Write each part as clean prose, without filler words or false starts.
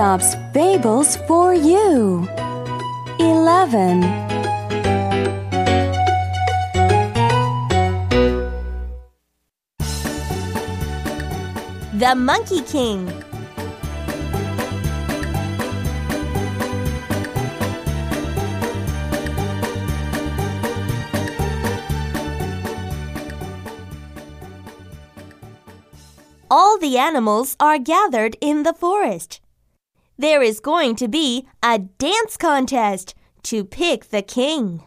Aesop's Fables for you. 11. The Monkey King. All the animals are gathered in the forest. There is going to be a dance contest to pick the king.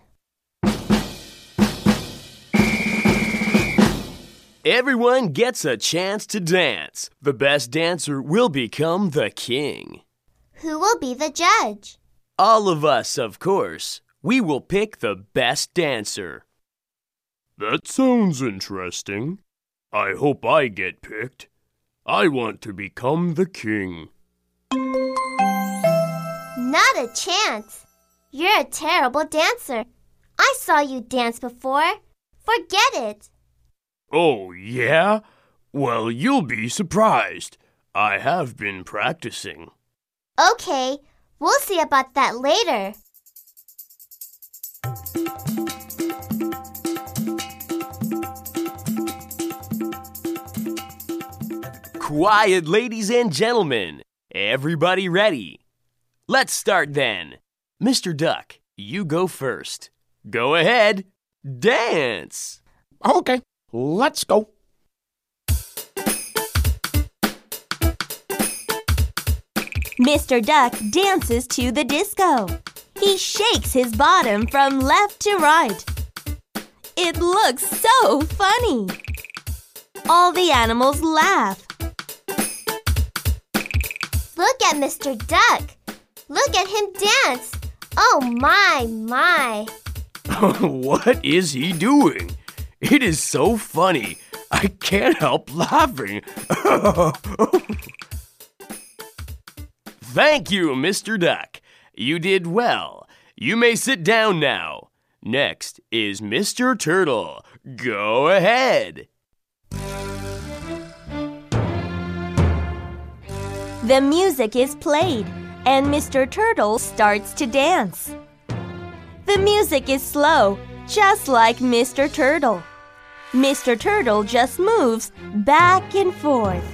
Everyone gets a chance to dance. The best dancer will become the king. Who will be the judge? All of us, of course. We will pick the best dancer. That sounds interesting. I hope I get picked. I want to become the king. Not a chance. You're a terrible dancer. I saw you dance before. Forget it. Oh, yeah? Well, you'll be surprised. I have been practicing. Okay, we'll see about that later. Quiet, ladies and gentlemen. Everybody ready? Let's start then. Mr. Duck, you go first. Go ahead. Dance. Okay, let's go. Mr. Duck dances to the disco. He shakes his bottom from left to right. It looks so funny. All the animals laugh. Look at Mr. Duck. Look at him dance. Oh, my. What is he doing? It is so funny. I can't help laughing. Thank you, Mr. Duck. You did well. You may sit down now. Next is Mr. Turtle. Go ahead. The music is played, and Mr. Turtle starts to dance. The music is slow, just like Mr. Turtle. Mr. Turtle just moves back and forth.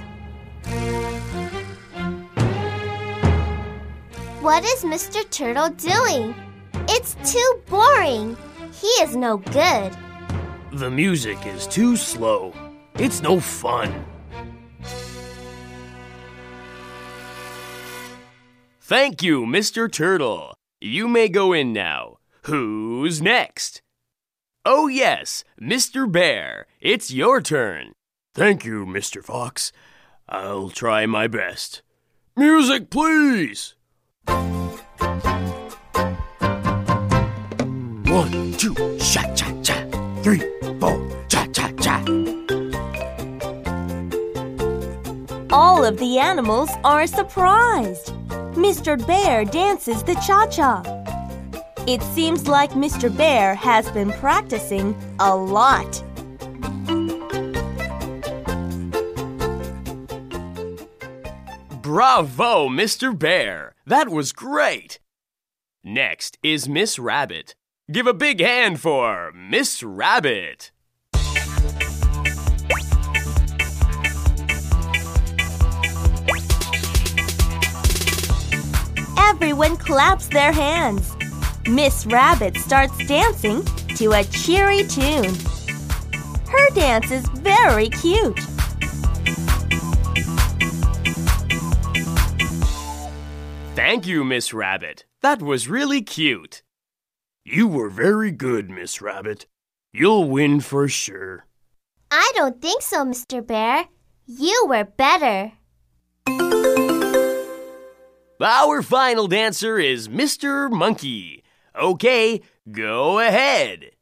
What is Mr. Turtle doing? It's too boring. He is no good. The music is too slow. It's no fun. Thank you, Mr. Turtle. You may go in now. Who's next? Oh, yes, Mr. Bear. It's your turn. Thank you, Mr. Fox. I'll try my best. Music, please! 1, 2, cha-cha-cha. 3, 4, cha-cha-cha. All of the animals are surprised. Mr. Bear dances the cha-cha. It seems like Mr. Bear has been practicing a lot. Bravo, Mr. Bear. That was great. Next is Miss Rabbit. Give a big hand for Miss Rabbit. Everyone claps their hands. Miss Rabbit starts dancing to a cheery tune. Her dance is very cute. Thank you, Miss Rabbit. That was really cute. You were very good, Miss Rabbit. You'll win for sure. I don't think so, Mr. Bear. You were better. Our final dancer is Mr. Monkey. Okay, go ahead.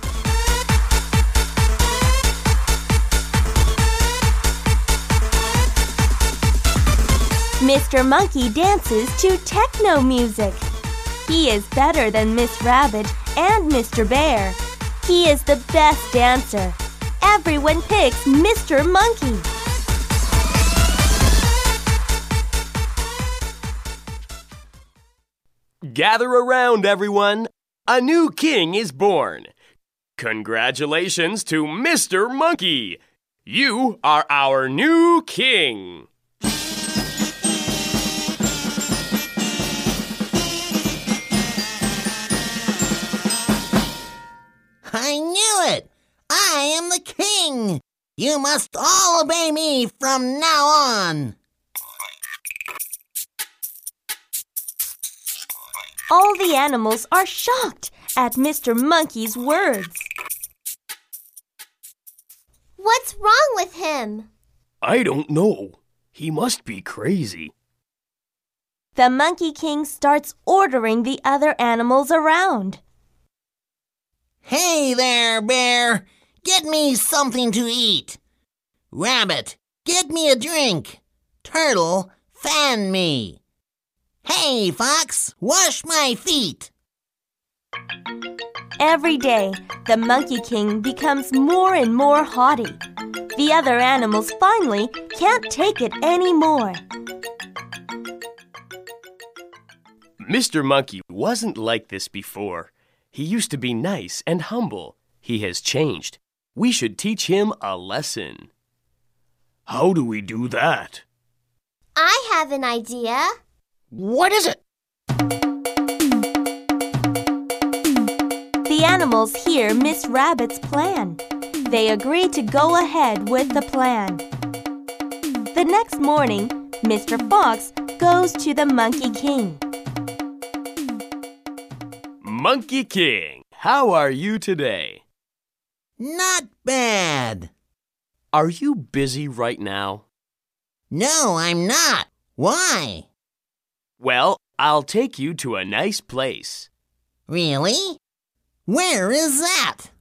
Mr. Monkey dances to techno music. He is better than Miss Rabbit and Mr. Bear. He is the best dancer. Everyone picks Mr. Monkey. Gather around, everyone. A new king is born. Congratulations to Mr. Monkey. You are our new king. I knew it! I am the king! You must all obey me from now on! All the animals are shocked at Mr. Monkey's words. What's wrong with him? I don't know. He must be crazy. The Monkey King starts ordering the other animals around. Hey there, Bear! Get me something to eat! Rabbit, get me a drink! Turtle, fan me! Hey, Fox, wash my feet! Every day, the Monkey King becomes more and more haughty. The other animals finally can't take it anymore. Mr. Monkey wasn't like this before. He used to be nice and humble. He has changed. We should teach him a lesson. How do we do that? I have an idea. What is it? The animals hear Miss Rabbit's plan. They agree to go ahead with the plan. The next morning, Mr. Fox goes to the Monkey King. Monkey King, how are you today? Not bad. Are you busy right now? No, I'm not. Why? Well, I'll take you to a nice place. Really? Where is that?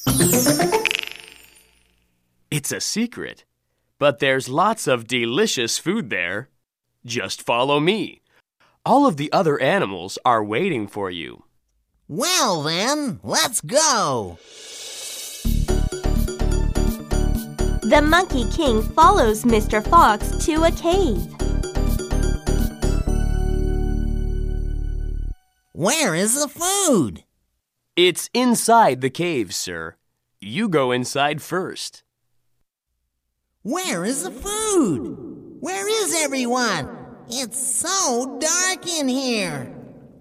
It's a secret, but there's lots of delicious food there. Just follow me. All of the other animals are waiting for you. Well then, let's go! The Monkey King follows Mr. Fox to a cave. Where is the food? It's inside the cave, sir. You go inside first. Where is the food? Where is everyone? It's so dark in here.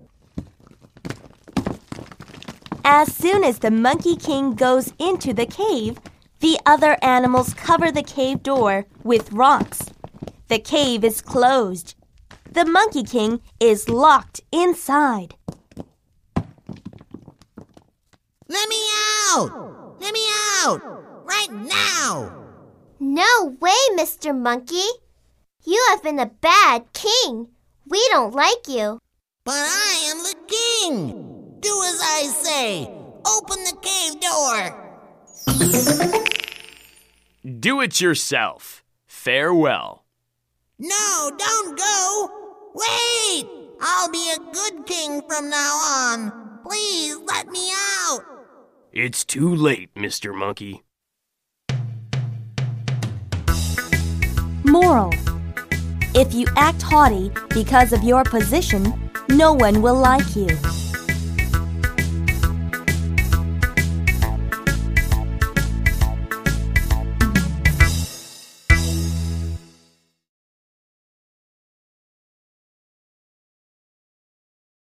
As soon as the Monkey King goes into the cave, the other animals cover the cave door with rocks. The cave is closed. The Monkey King is locked inside. Let me out! Let me out! Right now! No way, Mr. Monkey. You have been a bad king. We don't like you. But I am the king! Do as I say! Open the cave door! Do it yourself. Farewell. No, don't go! Wait! I'll be a good king from now on. Please let me out! It's too late, Mr. Monkey. Moral: if you act haughty because of your position, no one will like you.